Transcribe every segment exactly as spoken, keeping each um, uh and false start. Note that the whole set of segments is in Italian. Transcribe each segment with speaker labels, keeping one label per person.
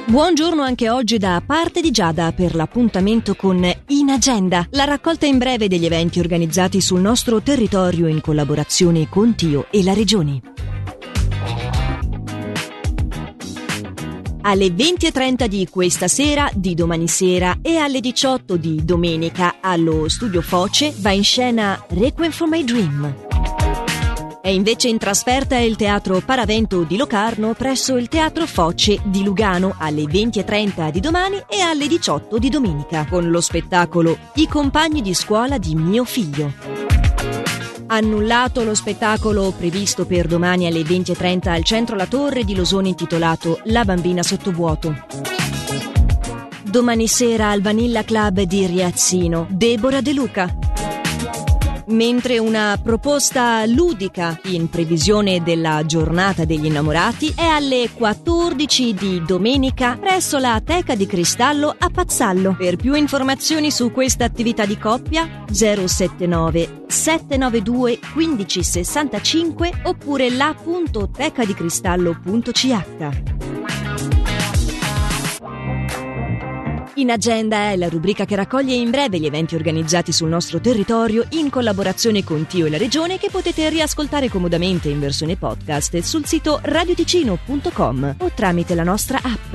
Speaker 1: Buongiorno anche oggi da parte di Giada per l'appuntamento con In Agenda, la raccolta in breve degli eventi organizzati sul nostro territorio in collaborazione con Tio e la Regione. Alle venti e trenta di questa sera, di domani sera e alle diciotto di domenica allo Studio Foce va in scena Requiem for My Dream. È invece in trasferta il Teatro Paravento di Locarno presso il Teatro Foce di Lugano alle venti e trenta di domani e alle diciotto di domenica con lo spettacolo I compagni di scuola di mio figlio. Annullato lo spettacolo previsto per domani alle venti e trenta al Centro La Torre di Losone intitolato La bambina sottovuoto. Domani sera al Vanilla Club di Riazzino, Deborah De Luca. Mentre una proposta ludica in previsione della giornata degli innamorati è alle quattordici di domenica presso la Teca di Cristallo a Pazzallo. Per più informazioni su questa attività di coppia zero sette nove sette nove due uno cinque sei cinque oppure la punto tecadicristallo punto c h. In Agenda è la rubrica che raccoglie in breve gli eventi organizzati sul nostro territorio in collaborazione con Tio e la Regione, che potete riascoltare comodamente in versione podcast sul sito radioticino punto com o tramite la nostra app.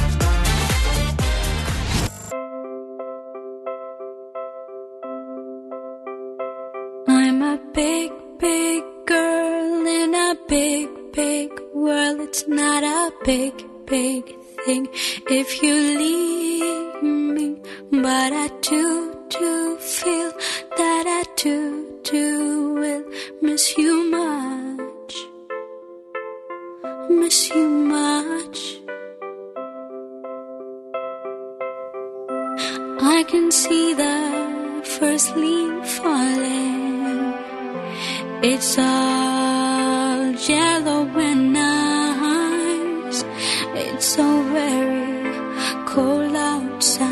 Speaker 2: I'm a big, big girl in a big, big world. It's not a big, big thing if you leave me, but I do, do feel that I do, do will miss you much, miss you much. I can see the first leaf falling, it's all yellow and nice, it's so very cold outside,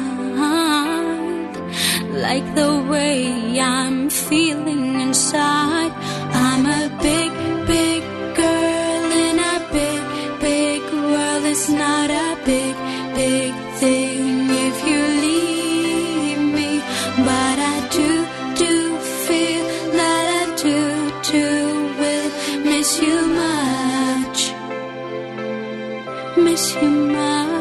Speaker 2: like the way I'm feeling inside. I'm a big, big girl in a big, big world. It's not a big, big thing if you leave me, but I do, do feel that I do, do will miss you much, miss you much.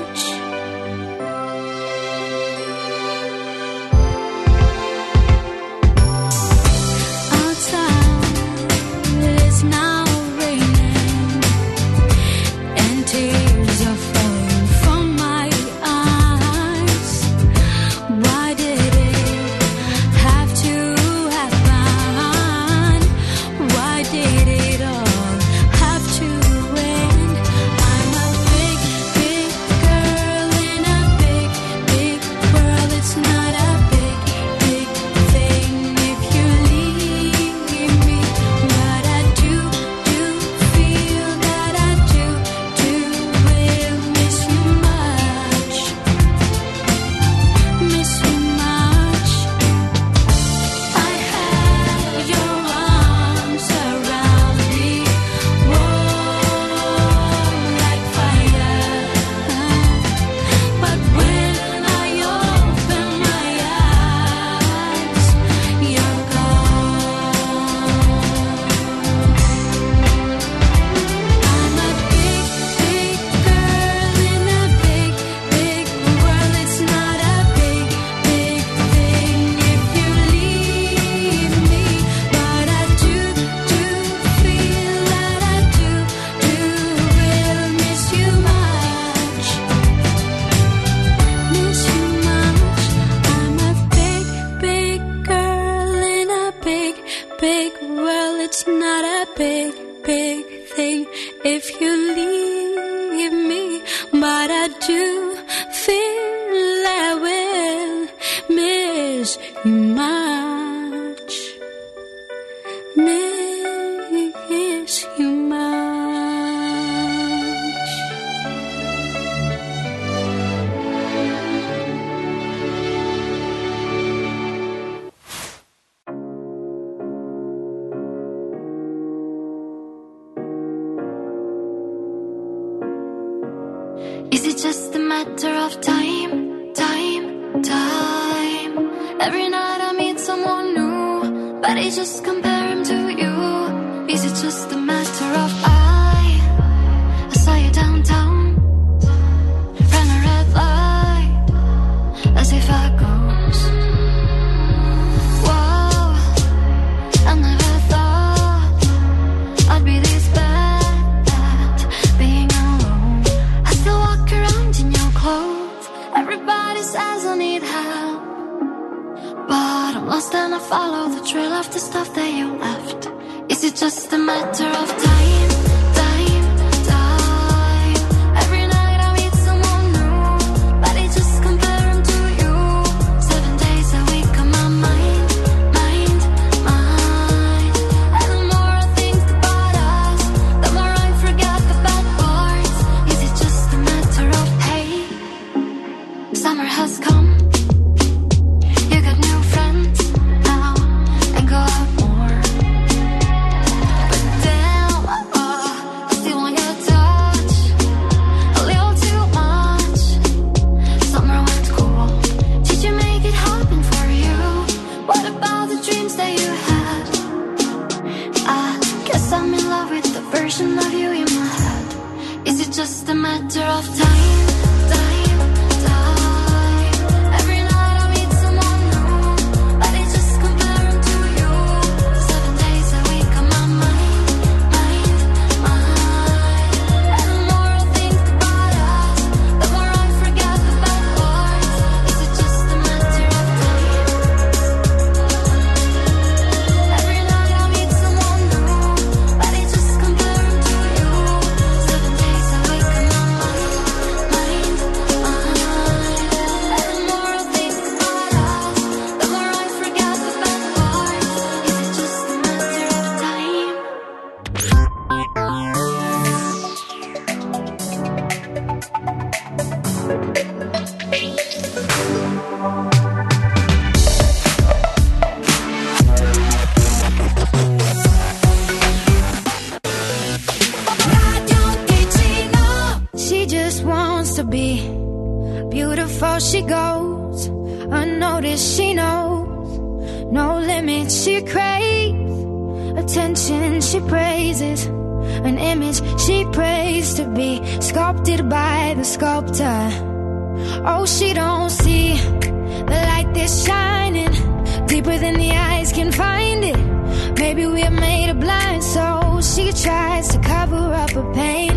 Speaker 2: It's not a big, big thing if you leave me, but I do feel I will miss you much, miss you much. Is it just a matter of time, time, time? Every night I meet someone new, but I just compare him to you. Is it just a matter of I, I saw you downtown, ran a red light, as if I goes. Whoa, I never thought I'd be this bad at being alone. I still walk around in your clothes. Everybody says I need help, but I'm lost and I follow the trail of the stuff that you left. Is it just a matter of time, time, time? Every night I meet someone new, but I just compare him to you. Seven days a week on my mind, mind, mind. And the more I think about us, the more I forget the bad parts. Is it just a matter of, hey, summer has come, you got new friends now, and go out more. But damn, uh, I still want your touch, a little too much. Summer went cool, did you make it happen for you? What about the dreams that you had? I guess I'm in love with the version of you in my head. Is it just a matter of time, time, time? Every night I meet someone new, but I just compare him to you. Seven days a week on my mind, mind, mind. And the more I think about us, the more I forget the bad parts. Is it just a matter of time? Every night I meet someone new, but I just compare him to you. Seven days a week on my mind, mind, mind. And the more I think about us, the more I forget the bad parts. Is it just a matter of time? She just wants to be beautiful. She goes unnoticed. She knows no limits. She craves attention. She praises an image she prays to be sculpted by the sculptor. Oh, she don't see the light that's shining deeper than the eyes can find it. Maybe we're made of blind, so she tries to cover up her pain.